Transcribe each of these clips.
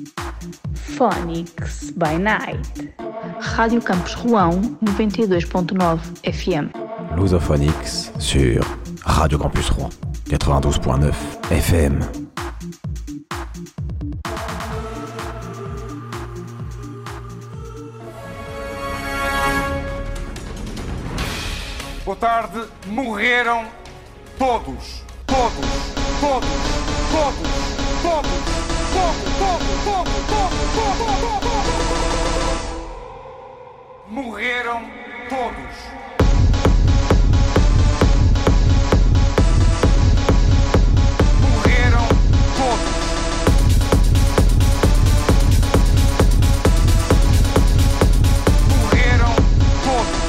Phonics by Night. Rádio Campus Rouen, 92.9 FM. Lusophonics sur Radio Campus Rouen, 92.9 FM. Boa tarde, morreram todos. Morreram todos. Morreram todos. Morreram todos.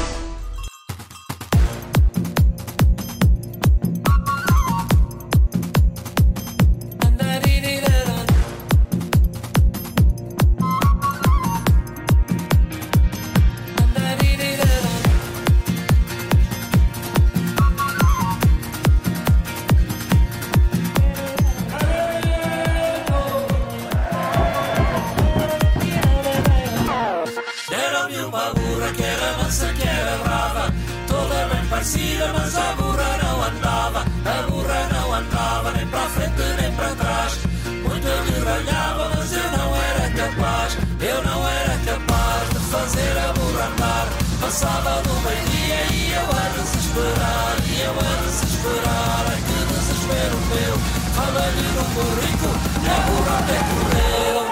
Mas a burra não andava nem para a frente nem para trás. Muito me ralhava, mas eu não era capaz de fazer a burra andar. Passava do meio-dia e eu a desesperar, ai que desespero meu. Fala-lhe num burrico e a burra até correu.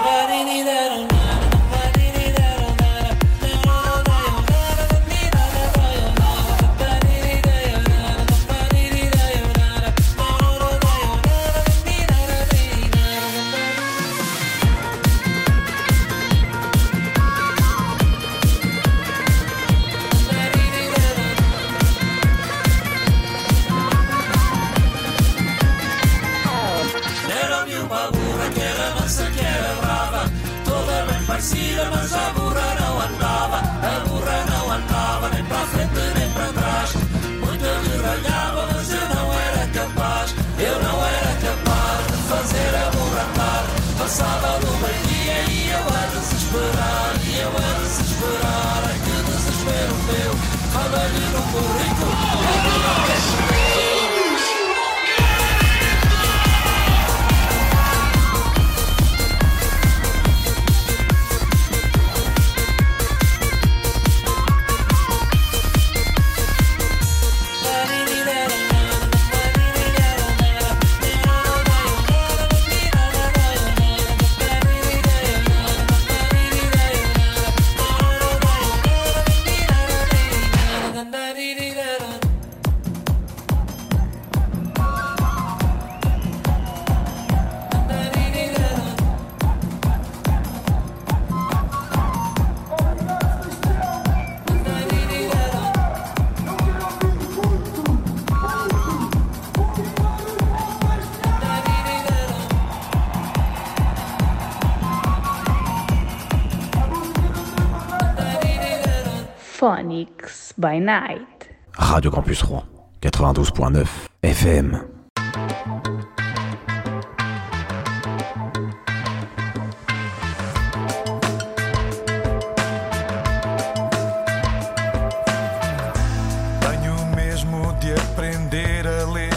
Mas a burra não andava nem para a frente nem para trás. Muito me ralhava, mas eu não era capaz de fazer a burra andar. Passava do meio-dia e eu a desesperar, ai que desespero meu. Fala-lhe num burrico, a burra quer chover. Phonics by Night. Radio Campus Rouen, 92.9 FM. Tenho mesmo de aprender a ler.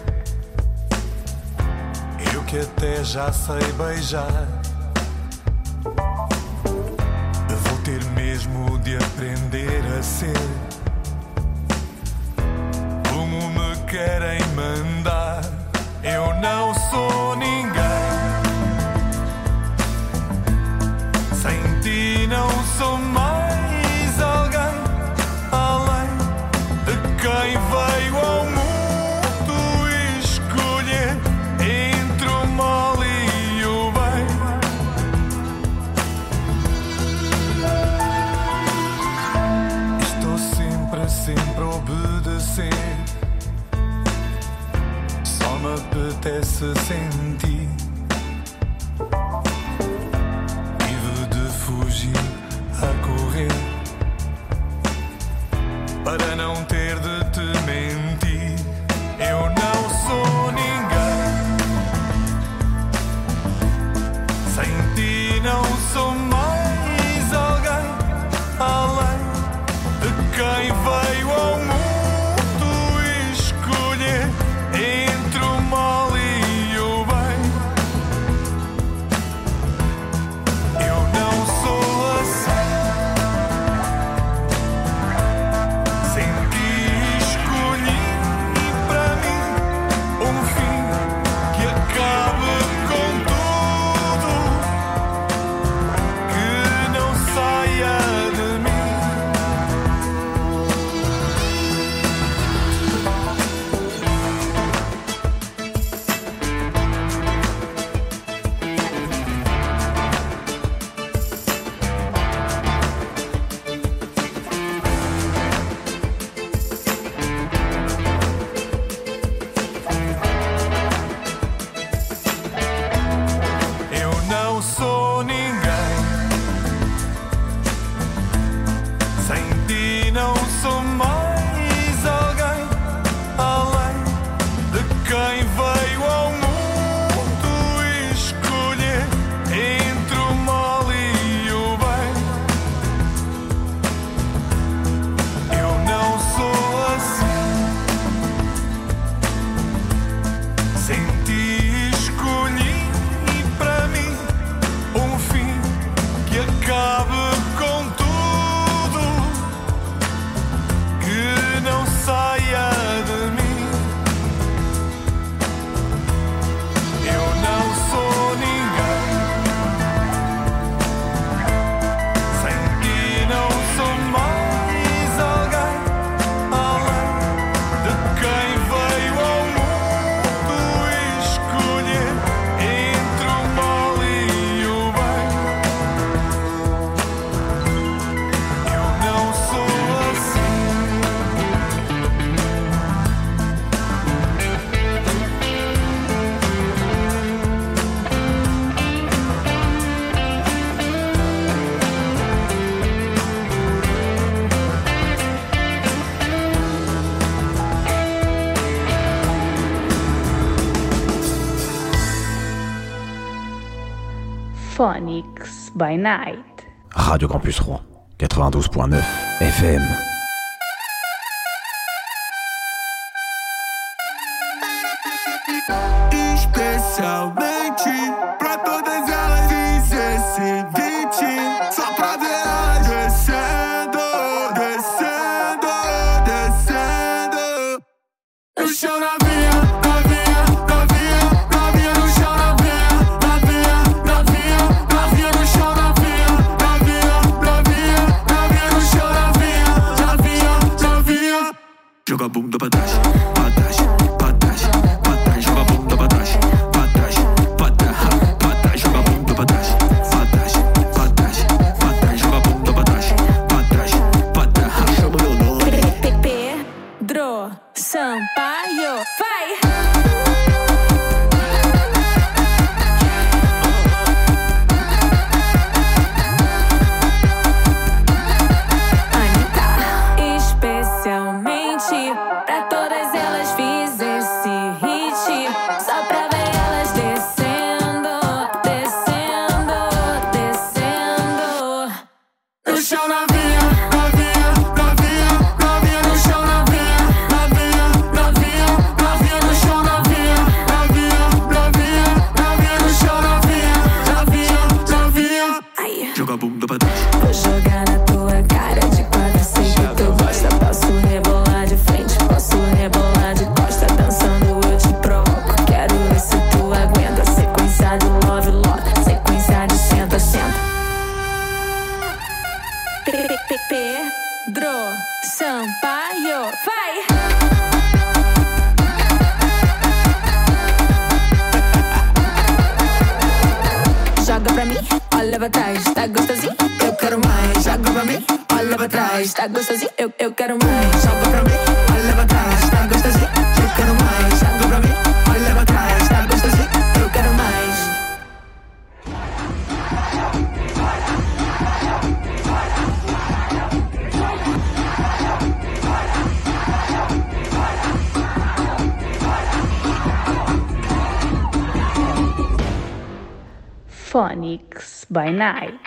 Eu que até já sei beijar. Vou ter mesmo de aprender a ser como me querem mandar. Eu não sou ninguém. Sem ti não sou mais alguém, além de quem veio ao mundo escolher entre o mal e o bem. Estou sempre a obedecer. Só me apetece sentir. Vivo de fugir a correr para não ter de te mentir. Eu não sou ninguém. Phonics by Night. Radio Campus Rouen, 92.9 FM. Especialmente pra todas elas fiz esse beat só pra ver elas descendo, descendo, descendo no chão novinha, novinha, novinha, novinha no chão novinha, novinha, novinha, novinha no chão novinha, novinha, novinha, novinha no chão novinha, novinha, novinha. Joga a bunda pra trás, pra trás, pra trás, pra trás, joga a bunda pra trás. Sampaio, vai! Anitta, especialmente pra todas elas fiz esse hit só pra ver elas descendo, descendo, descendo no chão novinha, novinha, novinha, novinha no chão novinha. Joga a bunda pra trás. Vou jogar na tua cara de quatro, sei que tu gosta. Posso rebolar de frente, posso rebolar de costa. Dançando eu te provoco, quero ver se tu aguenta. Sequência de love, love, sequência de senta, senta. Pedro Sampaio, vai! Joga pra mim, olha pra trás, tá gostosinho? Eu quero mais. Joga pra mim, olha pra trás, tá gostosinho? Eu quero mais. Joga pra mim, olha pra trás, tá gostosinho? Eu quero mais. Joga pra mim, olha pra trás, tá gostosinho? Eu quero mais. Phonics by Night.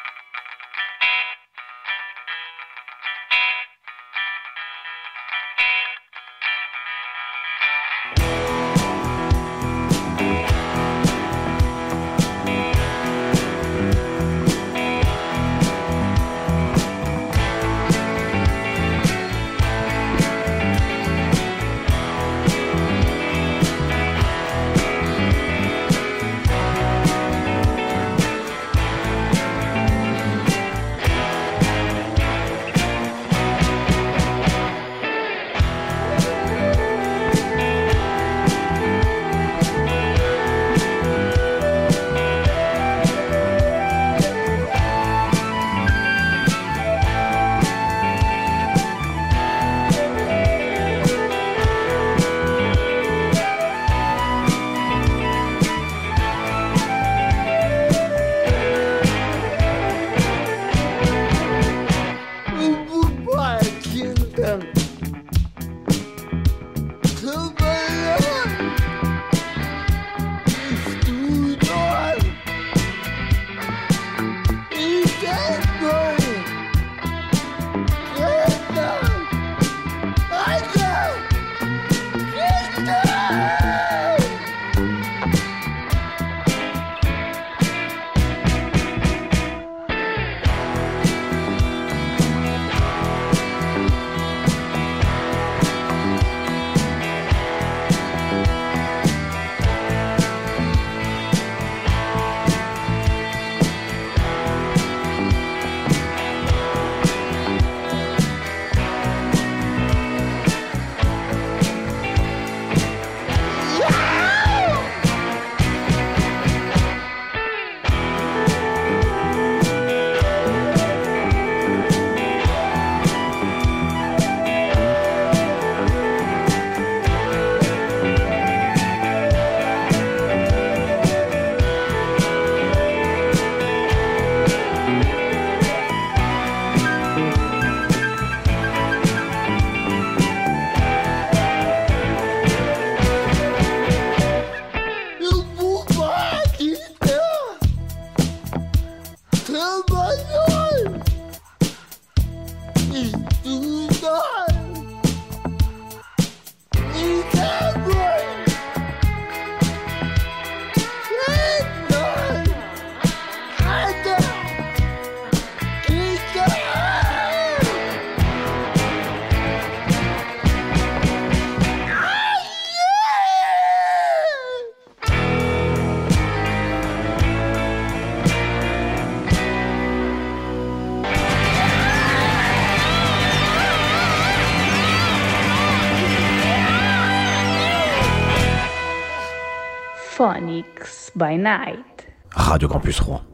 Phonics by Night. Radio Campus Rouen,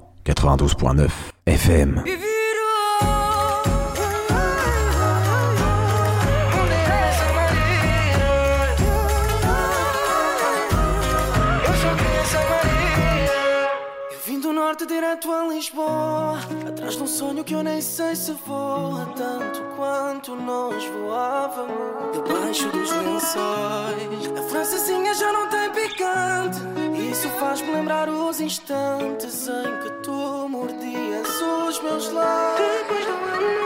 92.9 FM. Direto a Lisboa, atrás de um sonho que eu nem sei se voa tanto quanto nós voávamos. Debaixo dos lençóis, a francesinha já não tem picante. Isso faz-me lembrar os instantes em que tu mordias os meus lábios. Depois do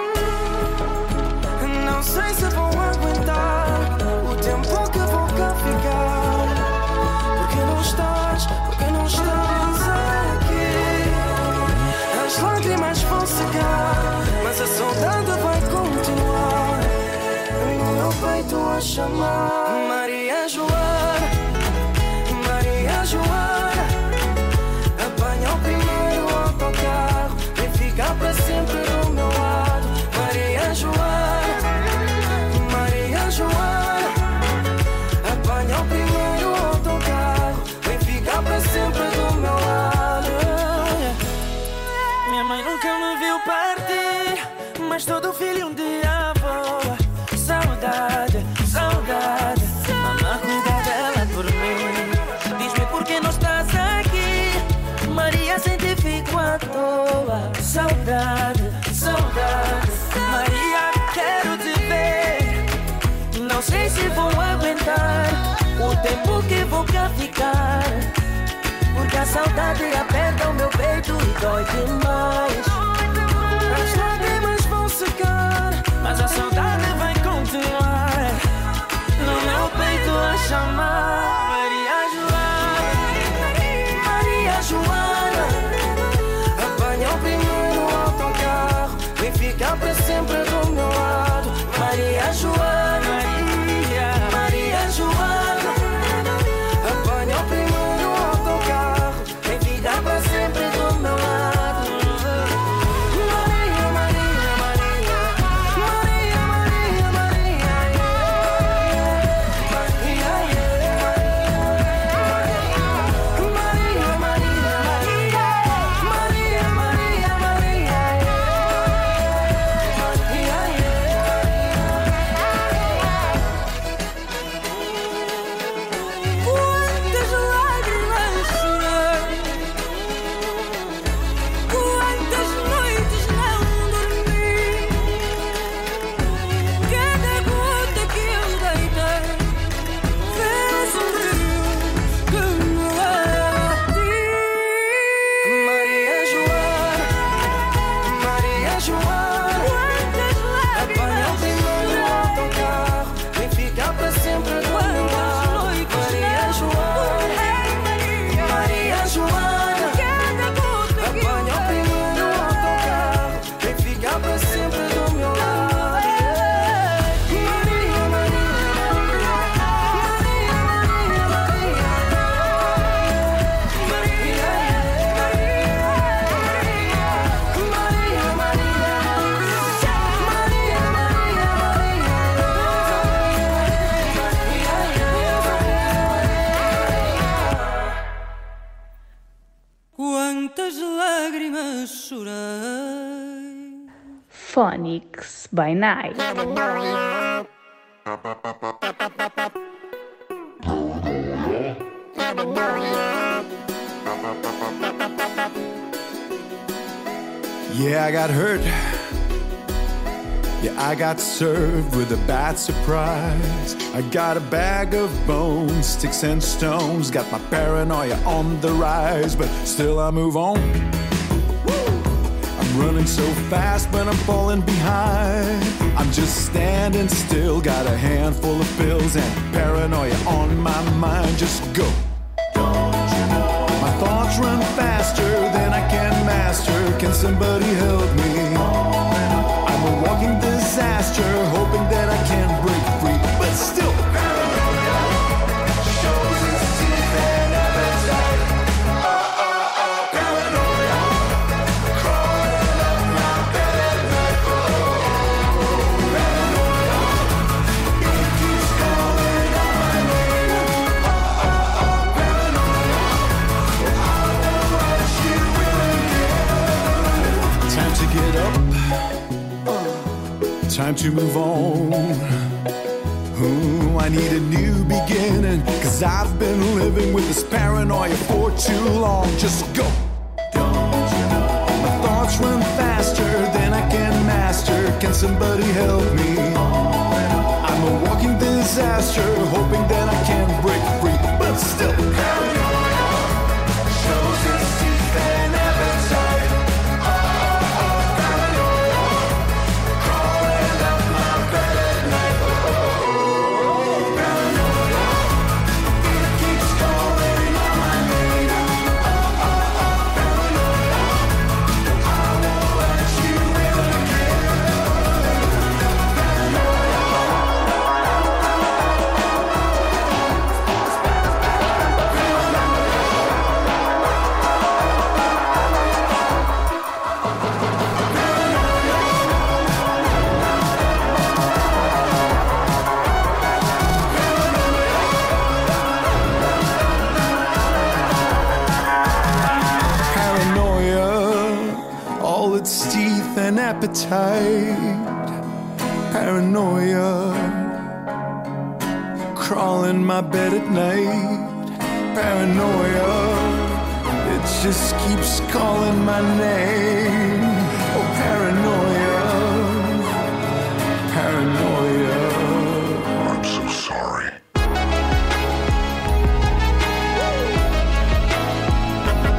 ano, não sei se vou aguentar o tempo que vou cá ficar. Porque não estás aqui. As lágrimas vão secar, mas a saudade vai continuar. No meu peito a chamar Maria Joana, Maria Joana. Apanha o primeiro autocarro, vem ficar para sempre do meu lado. Maria Joana, Maria Joana. Apanha o primeiro autocarro, vem ficar para sempre do meu lado. Minha mãe nunca me viu partir, mas todo filho um dia voa. Saudade, saudade. saudade aperta o meu peito e dói demais. As lágrimas vão secar, mas a saudade vai continuar no meu peito a chamar. Maria Joana, apanha o primeiro autocarro, vem ficar pra sempre do meu lado. Maria Joana, Maria Joana, apanha o primeiro autocarro, vem ficar pra sempre do meu lado. Maria, Maria, Maria, Maria, Maria, Maria, quantas lágrimas chorei. Phonics by Night. Yeah, I got hurt. Yeah, I got served with a bad surprise. I got a bag of bones, sticks and stones. Got my paranoia on the rise, but still I move on. I'm running so fast, but I'm falling behind. I'm just standing still, got a handful of pills and paranoia on my mind. Just go. My thoughts run faster than I can master. Can somebody help me? I'm a walking disaster, hoping that I can break free, but still paranoia shows its teeth and appetite. Paranoia crawling up my bed at night. Paranoia, it keeps calling out my name. Paranoia, I won't let you in again. Time to get up. Time to move on. Ooh, I need a new beginning, 'cause I've been living with this paranoia for too long. Just go. My thoughts run faster than I can master. Can somebody help me? I'm a walking disaster, hoping that I can break free, but still paranoia shows its teeth and appetite. Appetite, paranoia, crawling my bed at night. Paranoia, it just keeps calling my name. Oh, paranoia, paranoia. I'm so sorry.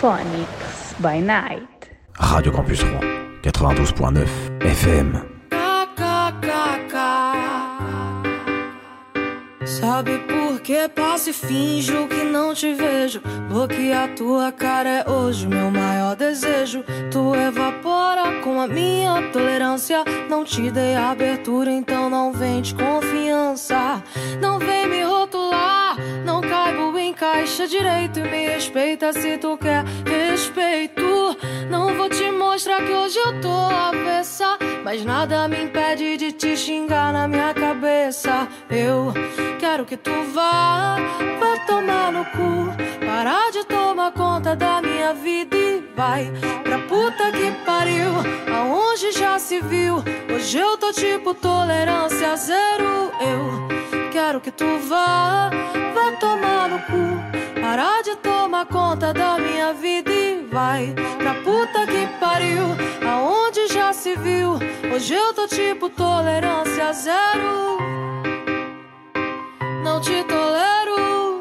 Phonics by Night. Radio Campus Rouen, 92.9 FM. Sabe por que passo e finjo que não te vejo? Bloquear tua cara é hoje meu maior desejo. Tu evapora com a minha tolerância. Não te dei abertura, então não vem de confiança. Não vem me rotular, não caibo em caixa direito. E me respeita se tu quer respeito. Não vou te mostrar que hoje eu tô avessa, mas nada me impede de te xingar na minha cabeça. Eu quero que tu vá tomar no cu, parar de tomar conta da minha vida e vai pra puta que pariu, aonde já se viu. Hoje eu tô tipo tolerância zero. Eu quero que tu vá tomar no cu, parar de tomar conta da minha vida e vai pra puta que pariu, aonde já se viu. Hoje eu tô tipo tolerância zero. Não te tolero.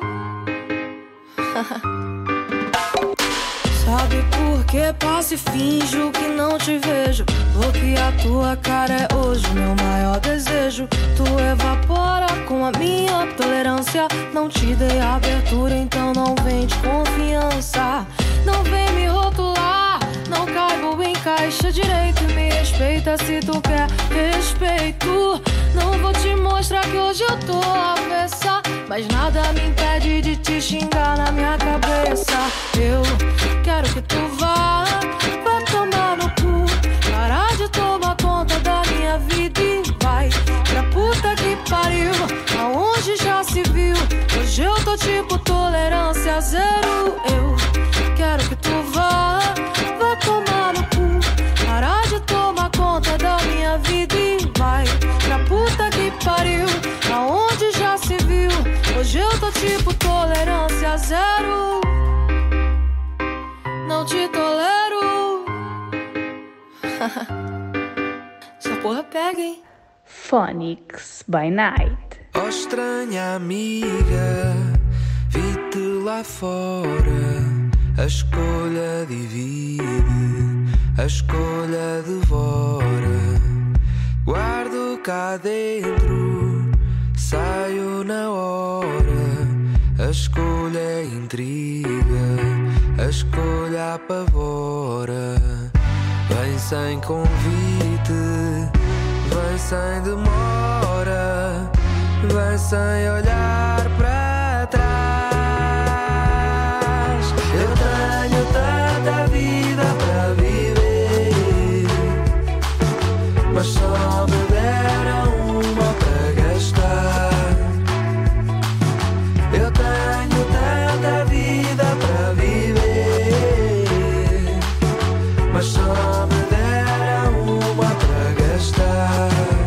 Sabe por que passo e finjo que não te vejo? Bloquear tua cara é hoje meu maior desejo. Tu evapora com a minha tolerância. Não te dei abertura, então não vem de confiança. Não vem me rotular, não caibo em caixa direito. Me respeita se tu quer respeito. Não vou te mostrar que hoje eu tô avessa, mas nada me impede de te xingar na minha cabeça. Eu quero que tu vá tomar no cu, parar de tomar conta da minha vida e vai pra puta que pariu, aonde já se viu. Hoje eu tô tipo tolerância zero. Eu quero que tu vá tomar no cu, parar de tomar conta da minha vida e vai pra puta que pariu, aonde já se viu. Hoje eu tô tipo tolerância zero. Não te tolero. Essa porra pega, hein? Phonics by Night. Oh, estranha amiga, vi-te lá fora. A escolha divide, a escolha devora. Guardo cá dentro, saio na hora. A escolha intriga, a escolha apavora. Vem sem convite, vem sem demora, vem sem olhar para trás. Eu tenho tanta vida para viver, mas só me deram uma para gastar. Eu tenho tanta vida para viver, mas só me deram uma para gastar.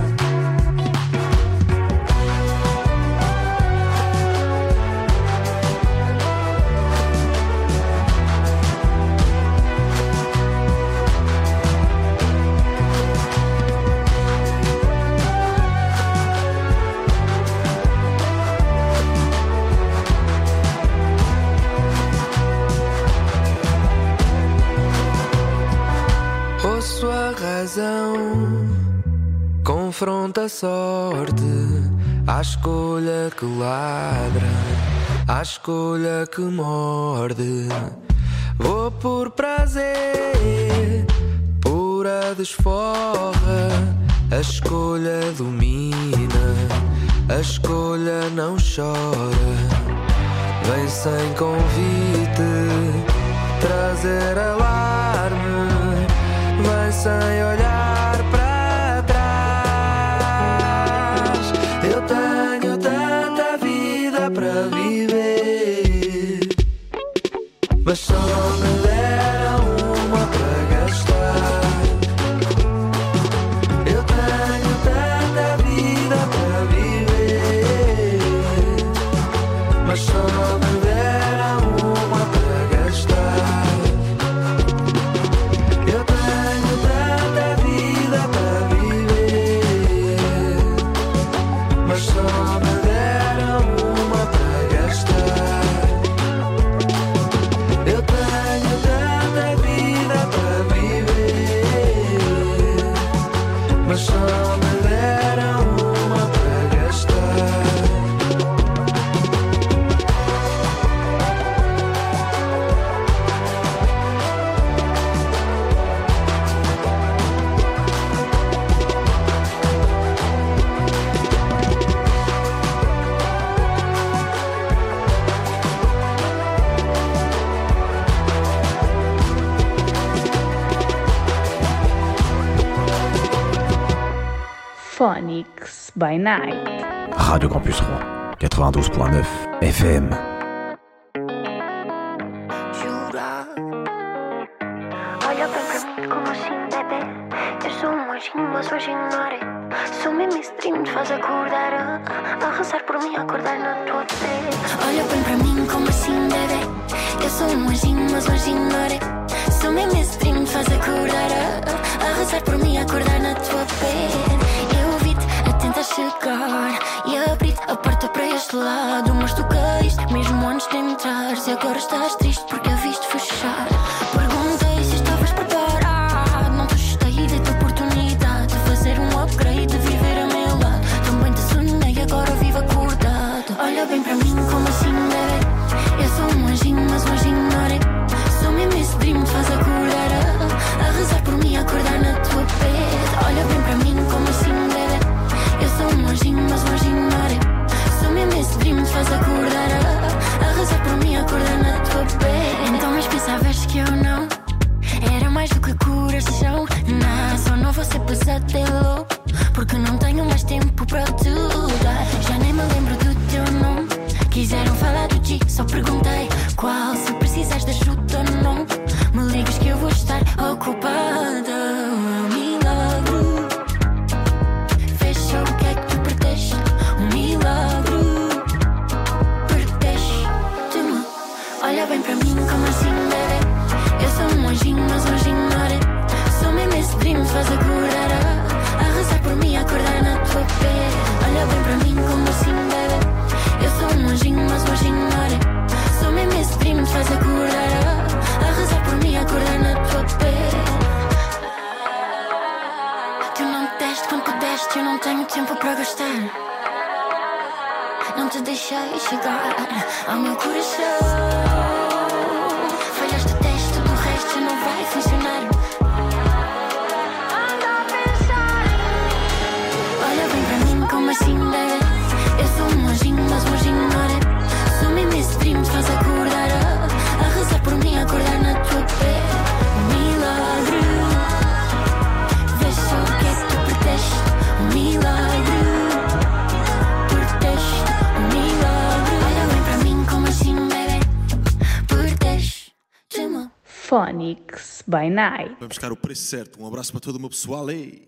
Sua razão confronta a sorte, à escolha que ladra, à escolha que morde. Vou por prazer, pura desforra. A escolha domina, a escolha não chora. Vem sem convite, trazer alarme. Vem sem olhar para trás. Eu tenho tanta vida para viver, mas só me deram uma para gastar. Eu tenho tanta vida para viver, mas só me deram uma para gastar. Só me deram uma para gastar. Eu tenho Phonics by Night. Radio Campus Rouen, 92.9 FM. Olha bem pra mim como assim, bebê. Eu sou um anjinho, mas hoje ignore. Sou mesmo esse dream te faz acordar a rezar por mim, acordar na tua pele. Olha bem pra mim como assim, bebê. Eu sou um anjinho, mas hoje ignore. Sou mesmo esse dream te faz acordar a rezar por mim, acordar na tua pele. Eu vi-te a tentar chegar e abrir a porta para este lado, mas tu caíste mesmo antes de entrares. E agora estás triste porque a viste fechar. Perguntei se estavas preparado. Não te gostei da tua oportunidade de fazer um upgrade, de viver a meu lado. Também te sonhei, agora vivo acordado. Olha bem para mim como assim, bebê. Eu sou um anjinho, mas um anjinho ignorei. Sou mesmo esse dream te faz acordar a rezar por mim, acordar na tua pele. Olha bem para mim como assim, bebê. Eu sou um anjinho, mas um anjinho ignorei. Sou mesmo esse dream te faz acordar a rezar por mim, acordar na tua pele. Então mas pensavas que eu não era mais do que coração? Não, só não vou ser pesadelo, porque não tenho mais tempo para te dar. Já nem me lembro do teu nome. Quiseram falar do ti, só perguntei qual. Se precisares de ajuda ou não, me ligas que eu vou estar ocupada. Milagre, fecha o que é que tu perdeste. Um milagre, perdeste-me. Olha bem para mim como assim, bebê. Eu sou um anjinho, mas um anjinho ignorei. Sou mesmo esse dream te faz acordar a rezar por mim, acordar na tua pele. Olha bem para mim como assim, bebê. Eu sou um anjinho, mas um anjinho ignorei. Sou mesmo esse dream te faz acordar a rezar por mim, acordar na tua pele. Tu não me deste quando pudeste, eu não tenho tempo para gastar. Não te deixei chegar ao meu coração. Falhaste o teste, do resto não vai funcionar. Anda a pensar em mim. Olha bem para mim como assim, bebê. Eu sou um anjinho, mas um anjinho ignorei. Sou mesmo esse dream te faz acordar a rezar por mim, acordar na tua pele. Milagre, vê só o que é que tu perdeste. Milagre, perdeste. Milagre, olha bem para mim como assim, bebê. Perdeste-me. Phonics by Night. Vamos buscar o preço certo. Um abraço para todo o meu pessoal aí.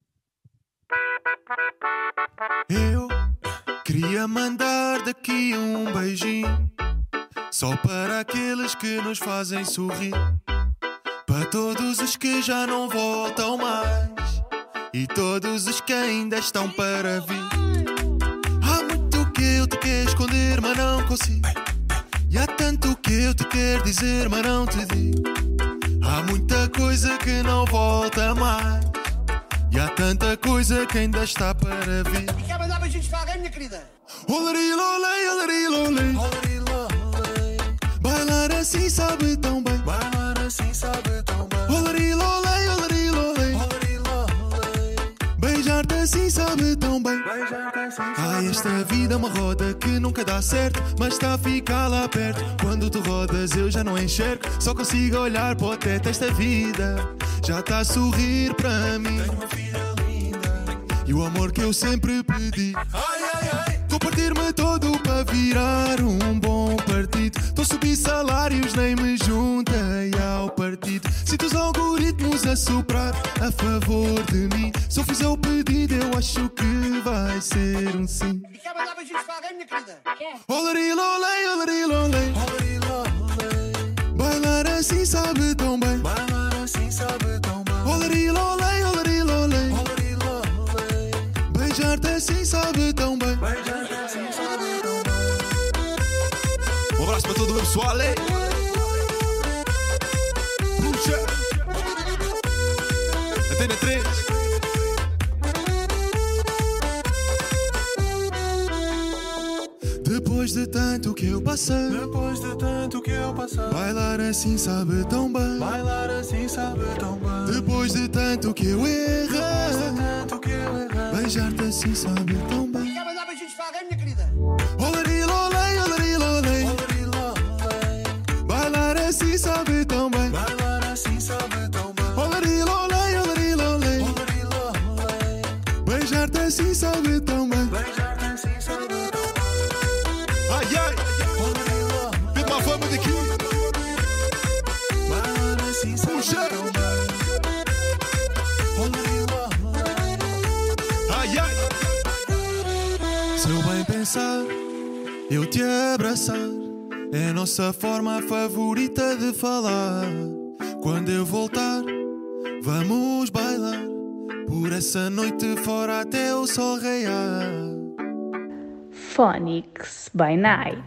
Eu queria mandar daqui um beijinho, só para aqueles que nos fazem sorrir, para todos os que já não voltam mais e todos os que ainda estão para vir. Há muito que eu te quero esconder, mas não consigo. E há tanto que eu te quero dizer, mas não te digo. Há muita coisa que não volta mais e há tanta coisa que ainda está para vir. E quer mandar beijinhos para alguém, minha querida? Olarilolei, olarilolei, olarilolei. Bailar assim sabe tão bem, bailar assim sabe tão bem. Olarilolei, olarilolei, olarilolei. Beijar-te assim sabe tão bem, beijar-te assim sabe. Ai, esta vida é uma roda que nunca dá certo, mas está a ficar lá perto. Quando tu rodas eu já não enxergo, só consigo olhar para o teto. Esta vida já está a sorrir para mim. Tenho uma vida linda e o amor que eu sempre pedi. Ai, ai, ai. Estou a partir-me todo para virar um bom partido. Estou a subir salários, nem me juntei ao partido. Sinto os algoritmos a soprar a favor de mim. Se eu fizer o pedido eu acho que vai ser um sim. E quer mandar beijinhos para alguém, minha querida? Quer? Olarilolei, olarilolei, olarilolei. Bailar assim sabe tão bem, bailar assim sabe tão bem. Olarilolei, olarilolei, olarilolei. Beijar-te assim sabe tão bem, beijar-te assim sabe tão bem. Um abraço para todo o meu pessoal aí. Puxa. Antena 3. Depois de tanto que eu passei, depois de tanto que eu passei, bailar assim sabe tão bem, bailar assim sabe tão bem. Depois de tanto que eu errei, depois de tanto que eu errei, beijar-te assim sabe tão bem. E quer mandar beijinhos para alguém, minha querida? Olarilolei, olarilolei, olarilolei. Bailar assim sabe tão bem, bailar assim sabe tão bem. Olarilolei, olarilolei, olarilolei. Beijar-te pensar, eu te abraçar. É a nossa forma favorita de falar. Quando eu voltar, vamos bailar por essa noite fora até o sol raiar. Phonics by Night.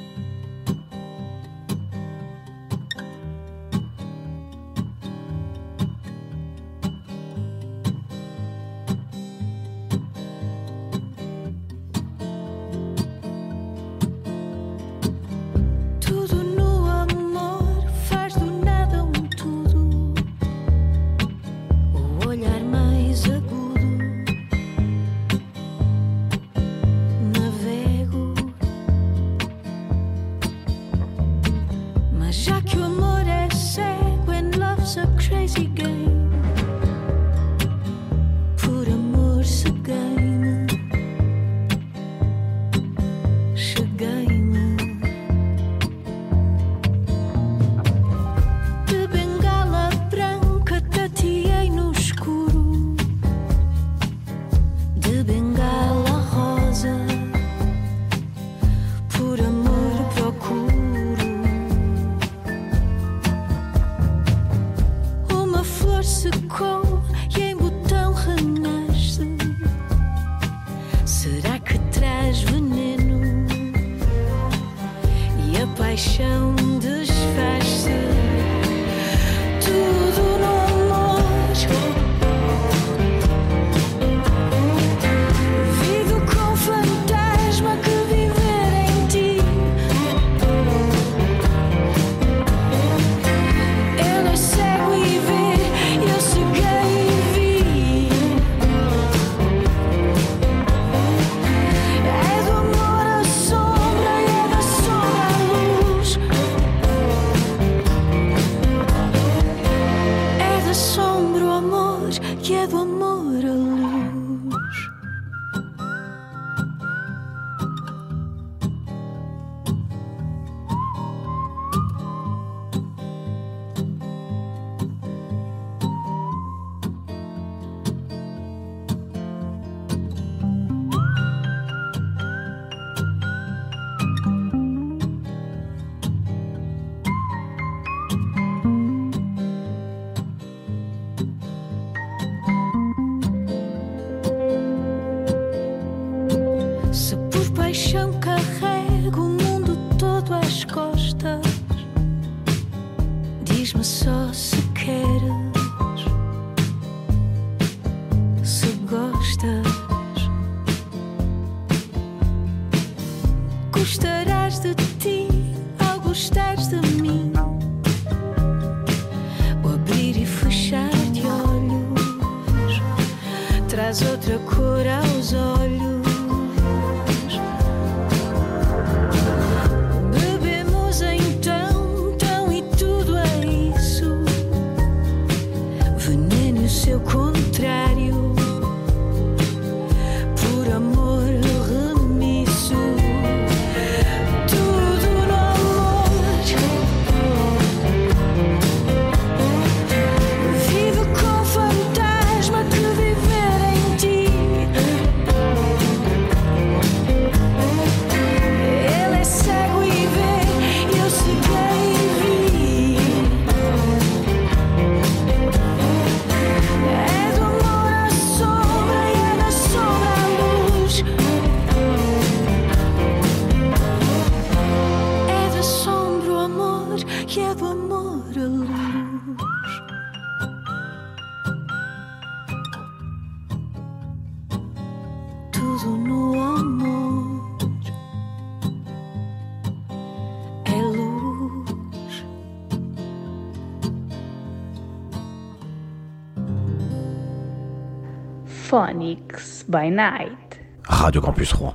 Phonics by Night. Radio Campus Rouen,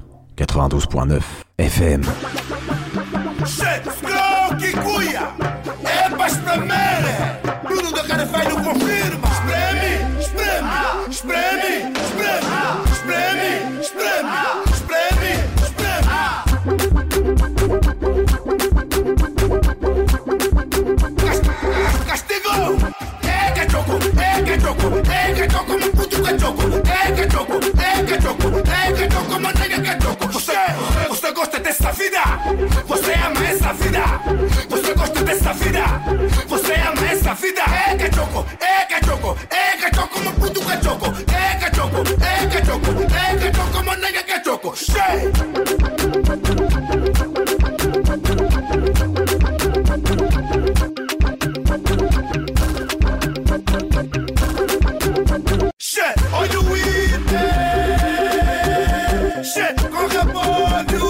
92.9 FM. Kikuya, é pra espremer. Tudo que eu quero faz não confirma. Espreme, espreme, espreme, espreme, espreme, espreme, espreme. Castigo, é cachoco, é cachoco, é cachoco, meu puto cachoco, é cachoco, é cachoco, é cachoco, manteiga cachoco. Você Você ama essa vida? É cachoco, é cachoco, é cachoco, meu puto cachoco. É cachoco, é cachoco, é cachoco, meu nega cachoco. Shit! Shit, olha o item. Shit, com repolho.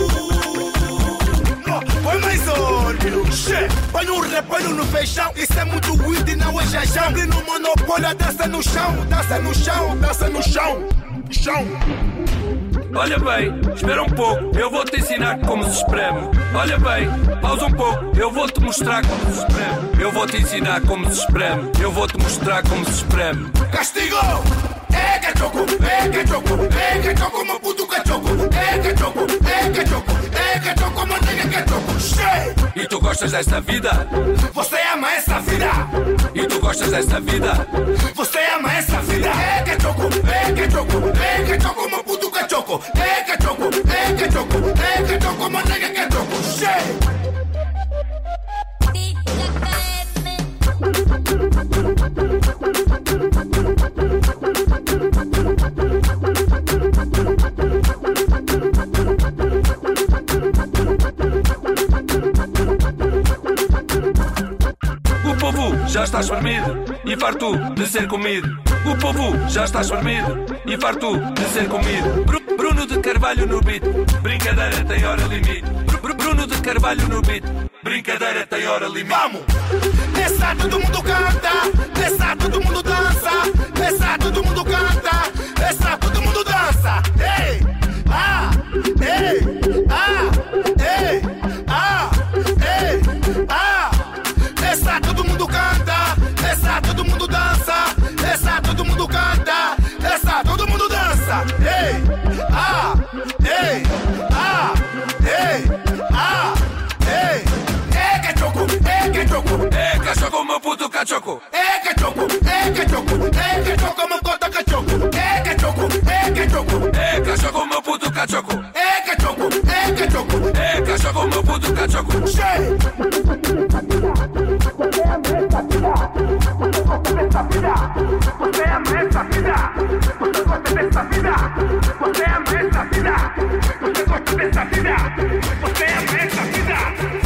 Põe mais óleo. Shit, põe um repolho no feijão. Isso é muito weed e não é jajão. E no monopólio dança no chão. Dança no chão, dança no chão. Chão. Olha bem, espera um pouco, eu vou-te ensinar como se espreme. Olha bem, pausa um pouco, eu vou-te mostrar como se espreme. Eu vou-te ensinar como se espreme. Eu vou-te mostrar como se espreme. Castigo! É cachoco, é cachoco, é cachoco, meu puto cachoco. É cachoco, é cachoco, é cachoco, meu nega cachoco. Shit! E tu gostas desta vida? Você ama essa vida? E tu gostas desta vida? Você ama essa vida? É cachoco, é cachoco, é cachoco, meu puto cachoco. É cachoco, é cachoco, é cachoco, meu nega cachoco. Shit! O povo já está espremido e farto de ser comido. O povo já está espremido e farto de ser comido. Bruno de Carvalho no beat, brincadeira tem hora limite. Bruno de Carvalho no beat, brincadeira tem hora limite. Vamos! Nessa todo mundo canta, nessa todo mundo dança, nessa todo mundo canta, nessa todo mundo dança. Ei! Ah! Ei! Ah! Ei! Ah! Ei! Ah! Nessa todo mundo canta, nessa todo mundo dança, nessa todo mundo canta, nessa todo mundo dança. Ei! Ah! Ei! Ah! Ei! Ah! Ei! É cachoco, é cachoco, é cachoco, meu puto cachoco. é cachoco, é cachoco, é cachoco, meu cota cachoco. É cachoco, é cachoco, É cachoco, meu puto cachoco. é cachoco, é cachoco, É cachoco, meu puto cachoco. shit! Você ama essa vida? Você gosta dessa vida? Você ama essa vida? Você gosta dessa vida? Você ama essa vida? Você gosta dessa vida? Você ama essa vida?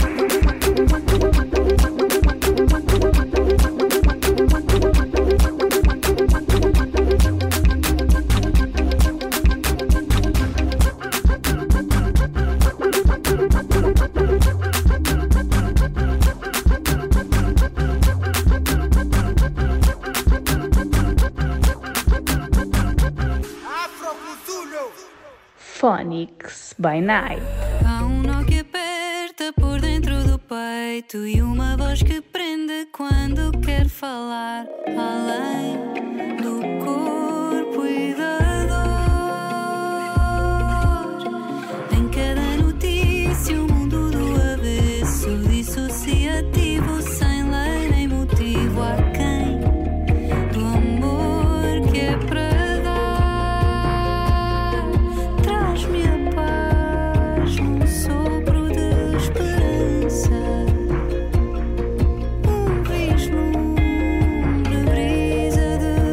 Phonics by Night. Há um nó que aperta por dentro do peito e uma voz que prende quando quer falar além do corpo e da dor. Em cada notícia o mundo do avesso, dissociativo, sem lei nem motivo. Há quem do amor que é para traz-me a paz num sopro de esperança, vislumbre, brisa de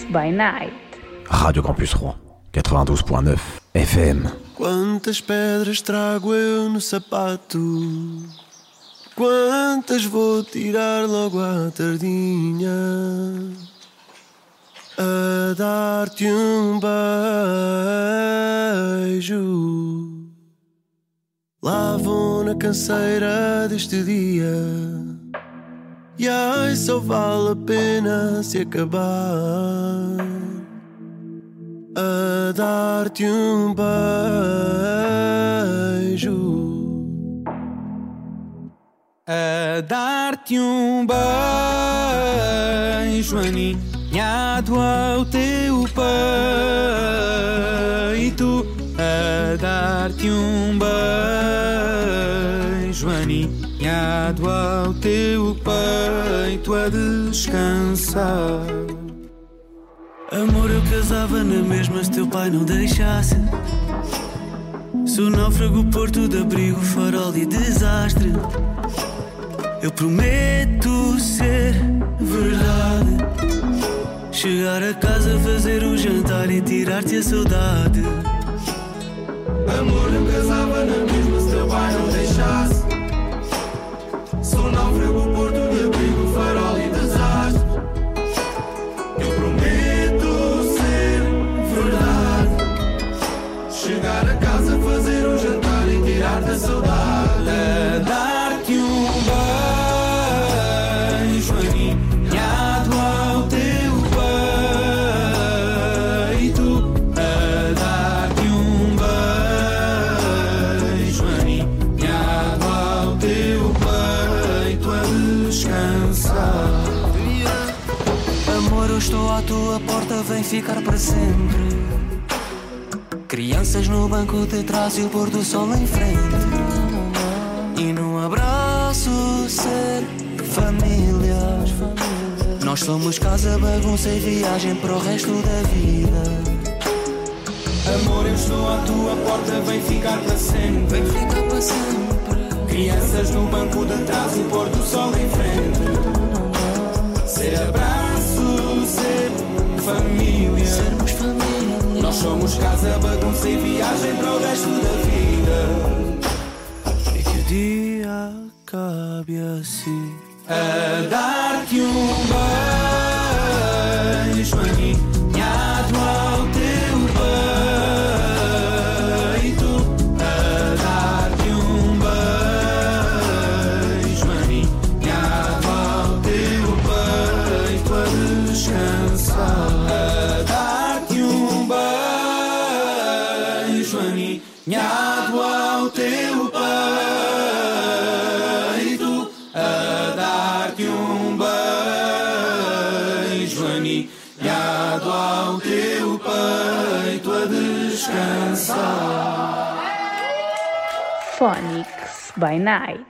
by Night. Radio Campus Rouen, 92.9 FM. Quantas pedras trago eu no sapato? Quantas vou tirar logo à tardinha? A dar-te um beijo. Lá vou na canseira deste dia. E ai, só vale a pena se acabar. A dar-te um beijo. A dar-te um beijo aninhado ao teu peito. A dar-te um beijo aninhado ao teu peito a descansar. Amor, eu casava na mesma se teu pai não deixasse. Sou náufrago, porto de abrigo, farol e desastre. Eu prometo ser verdade. Chegar a casa, fazer o jantar e tirar-te a saudade. Amor, eu casava na mesma se teu pai não deixasse. Sou náufrago, porto de abrigo, farol e desastre. Eu prometo ser verdade. Chegar a casa, fazer um jantar e tirar-te a saudade. A dar-te um beijo aninhado ao teu peito. A dar-te um beijo aninhado ao teu peito a descansar. Amor, eu estou à tua porta, vem ficar para sempre. Crianças no banco de trás e o pôr do sol em frente. E num abraço ser família. Nós somos casa, bagunça e viagem para o resto da vida. Amor, eu estou à tua porta, vem ficar para sempre. Vem ficar para sempre. Crianças no banco de trás e o pôr do sol em frente. Ser abraço, ser família. Sermos família. Nós somos casa, bagunça e viagem para o resto da vida. E que o dia acabe assim. A dar-te um beijo aninhado ao teu peito. A dar-te um beijo aninhado ao teu peito a descansar. A dar-te um beijo aninhado ao teu peito. A dar-te um beijo aninhado ao teu peito a descansar. Phonics by Night.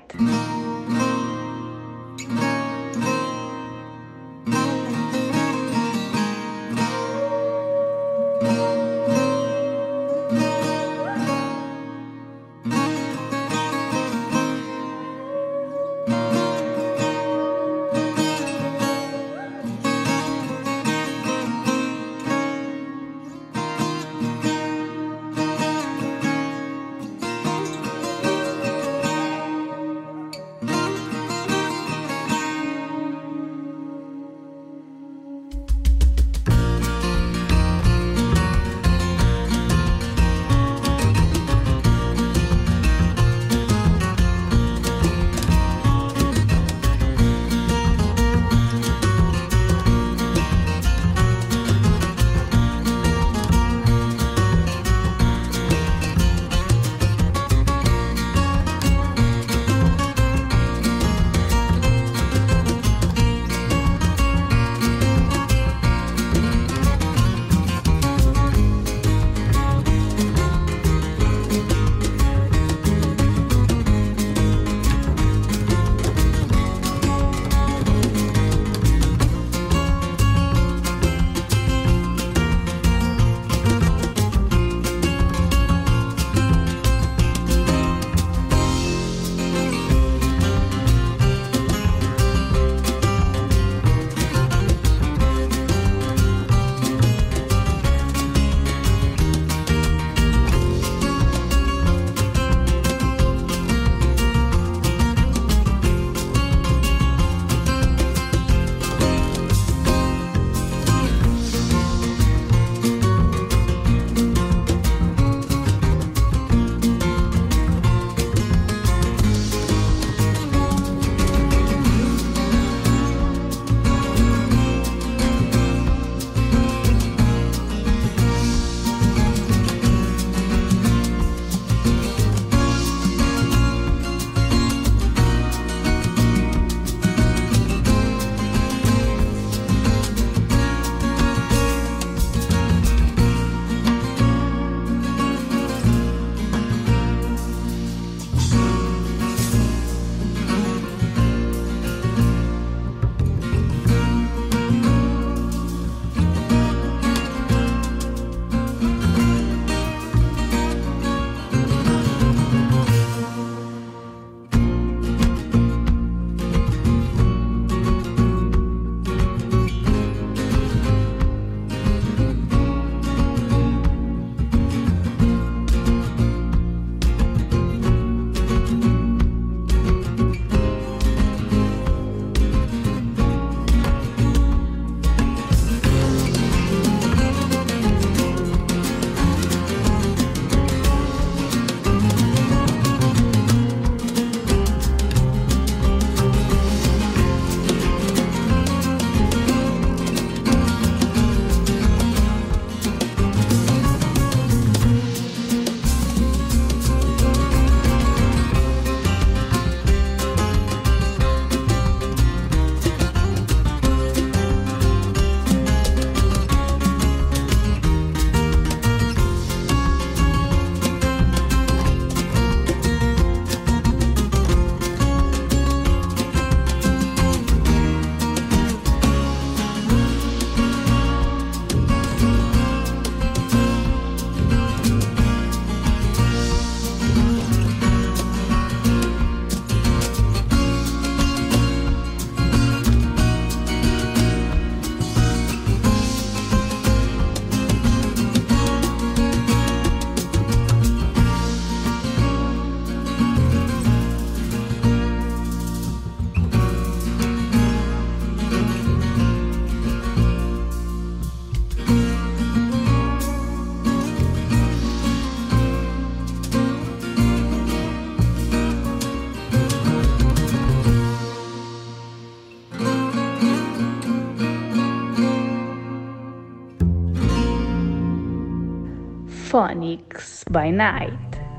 Phonics by Night.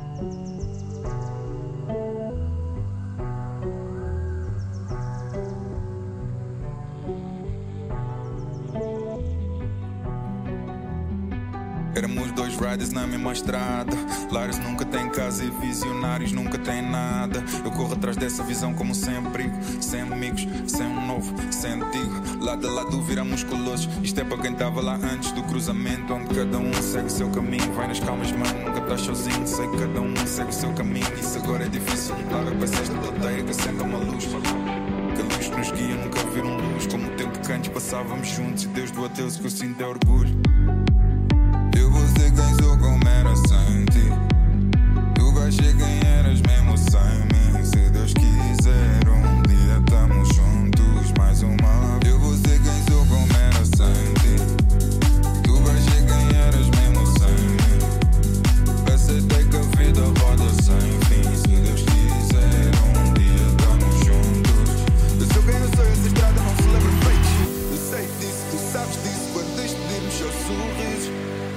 Éramos dois riders na mesma estrada. Lares nunca tem casa e visionários nunca tem nada. Eu corro atrás dessa visão como sem abrigo, sem amigos, sem um novo, sem antigo. Lado a lado viramos colossos. Isto é para quem estava lá antes do cruzamento, onde cada um segue o seu caminho. Vai nas calmas, mano, nunca estás sozinho. Sei que cada um segue o seu caminho. Isso agora é difícil, claro, é para ser esta plateia que acenda uma luz. Que a luz que nos guia nunca viram luz. Como o tempo que antes passávamos juntos. E Deus do adeus que eu sinto é orgulho. Eu vou ser quem sou como era sem ti. Tu vais ser quem eras mesmo sem mim. Se Deus quiser um dia estamos juntos mais uma vez. Eu vou ser quem sou como era sem ti. Tu vais ser quem eras mesmo sem mim. Aceitei que a vida roda sem fim. Se Deus quiser um dia estamos juntos. Eu sou quem eu sou, essa estrada não se lembra feitos. Eu sei disso, tu sabes disso. Quando despedimos seus sorrisos.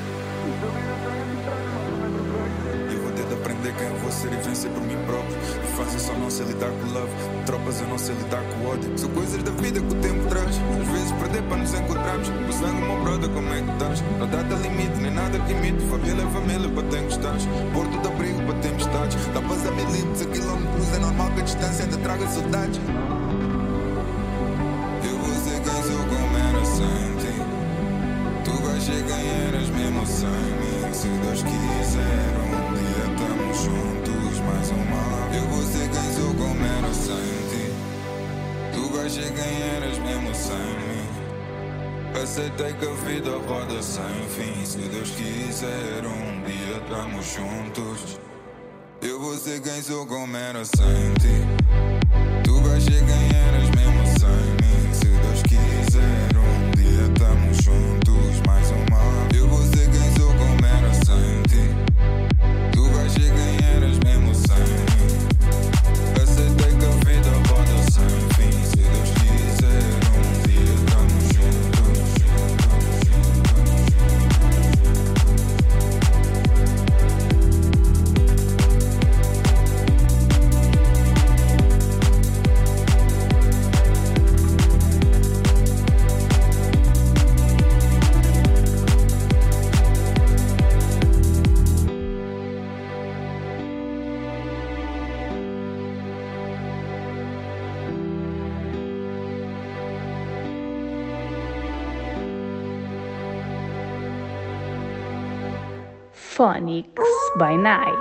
Eu vou ter de aprender quem eu vou ser e vencer por mim próprio. Infância só não sei lidar com love. Tropas eu não sei lidar com ódio. São coisas da vida que o tempo traz. Às vezes perder para nos encontrarmos. O sangue, meu brother, como é que estás? Não dá limite, nem nada limite. Família é família, para quem estás. Porto de abrigo para tempestades. Tapas a milites, a quilómetros. É normal que a distância ainda traga saudades. Eu vou ser quem sou como era sem ti. Tu vais ser quem eras mesmo sem mim. Se Deus quiser um dia estamos juntos mais uma vez. Eu vou ser quem sou como era sem ti. Tu vais ser quem eras mesmo sem mim. Aceitei que a vida roda sem fim. Se Deus quiser um dia estamos juntos. Eu vou ser quem sou como era sem ti. Tu vais ser quem eras mesmo sem mim. Se Deus quiser um dia estamos juntos mais uma vez. Eu vou ser quem sou como era sem ti. Tu vais ser quem eras mesmo sem mim. Aceitei que a vida roda sem fim. Se Deus quiser um dia estamos juntos. Phonics by Night.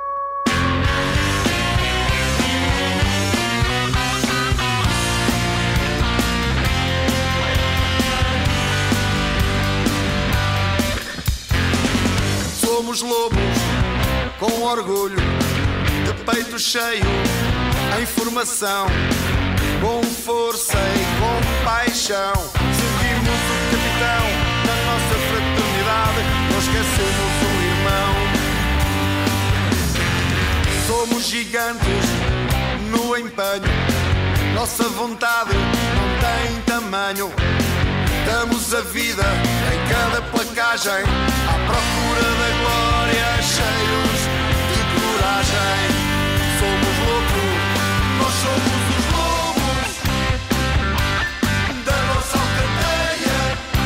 Somos lobos com orgulho, de peito cheio, em formação, com força e com paixão. Seguimos o capitão na nossa fraternidade, não esquecemos o irmão. Somos gigantes no empenho, nossa vontade não tem tamanho. Damos a vida em cada placagem, à procura da glória, cheios de coragem. Somos loucos, nós somos os lobos da nossa alcateia.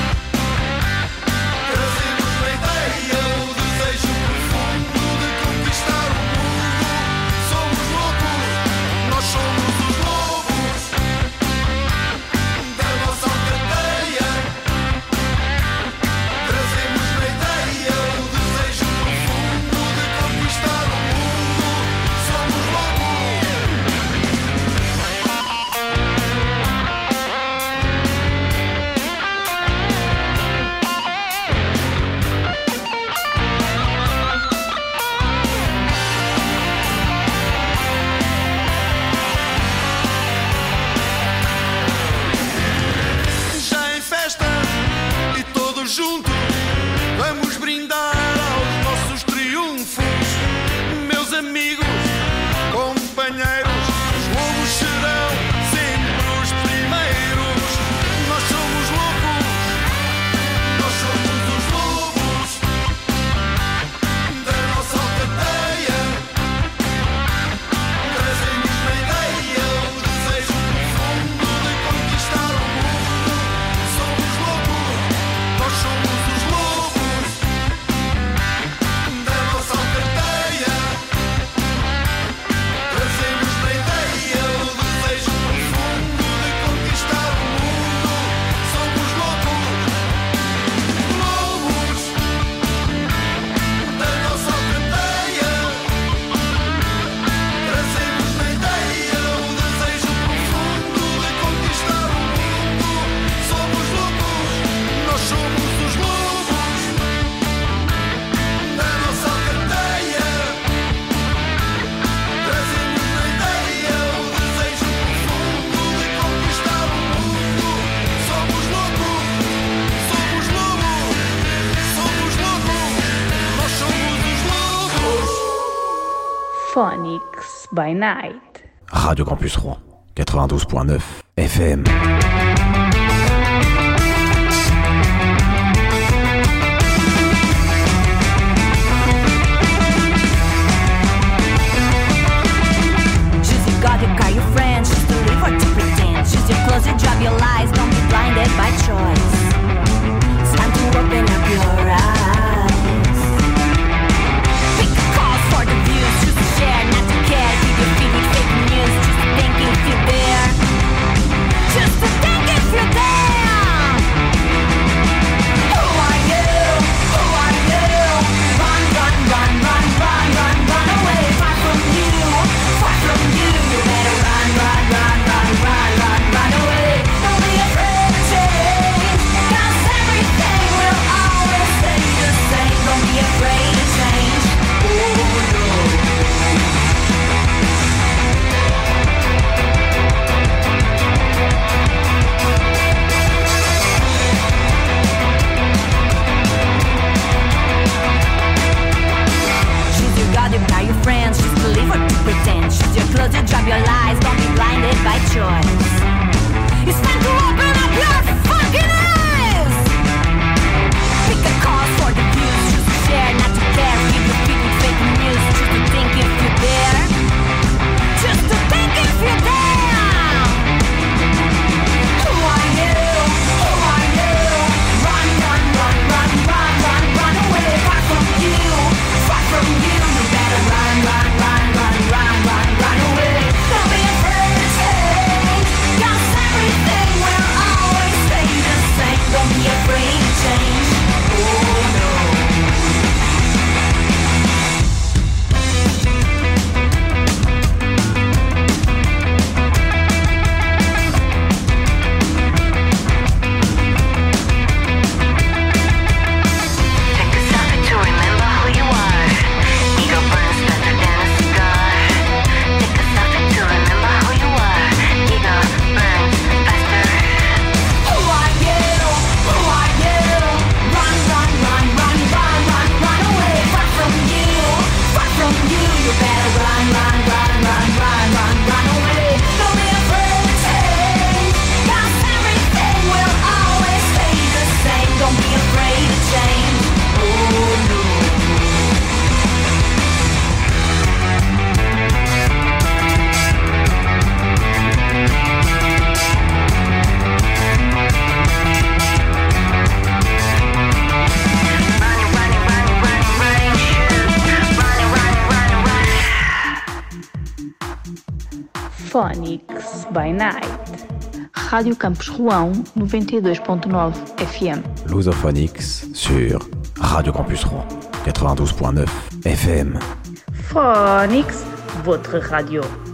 Trazemos na ideia o desejo profundo de conquistar o mundo. Somos loucos, nós somos os lobos da nossa alcateia. Trazemos na ideia o desejo profundo de conquistar o mundo. Somos lobos. Já em festa e todos juntos vamos brindar aos nossos triunfos. Meus amigos, companheiros, os lobos serão sempre os primeiros. Nós somos loucos, nós somos os lobos Phonics by Night. Radio Campus Rouen, 92.9 FM. God, you car, your friends, choose to live or to pretend. Choose your clothes, your job, your lies, don't be blinded by choice. It's time to open up your eyes. Pick a cause for the views, choose to share, not to care. Keep your feet with fake news, choose to think if you're there. Choose to think if you're there. Who are you? Who are you? Run, run, run, run, run, run, run away. Far from you, far from you. Run away. Don't be afraid to change, 'cause everything will always stay the same. Don't be afraid to change. Oh no. Choose your God, you got your friends. Choose to believe or to pretend. Choose your clothes, your job, your lies. Don't be blinded by choice. It's time to open up your fucking eyes. Pick a cause for the views. Choose to share, not to care. Keep your feet with fake news. Choose to think if you're there. Just to think if you're there. Who are you? Who are you? Run, run, run, run, run, run, run away. Far from you, far from you. You better run, run, run, run, run, run, run away. Don't be afraid to change, 'cause everything will always stay the same. Don't be afraid to change. Oh no. Take a second to remember who you are. Ego burns faster than a cigar. Take a second to remember who you are. Ego burns faster. Who are you? Who are you? Run, run, run, run, run, run, run away. Far from you, far from you. You better run, run, run, run, run, run, run away. Don't be afraid to change, 'cause everything will always stay the same. Don't be afraid to change. Oh no. Phonics by Night. Rádio Campus Rouen, 92.9 FM. Lusophonics sur Radio Campus Rouen, 92.9 FM. Phonics, votre radio.